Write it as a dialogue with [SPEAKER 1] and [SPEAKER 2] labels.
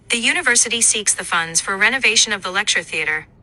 [SPEAKER 1] The university seeks the funds for renovation of the lecture theater,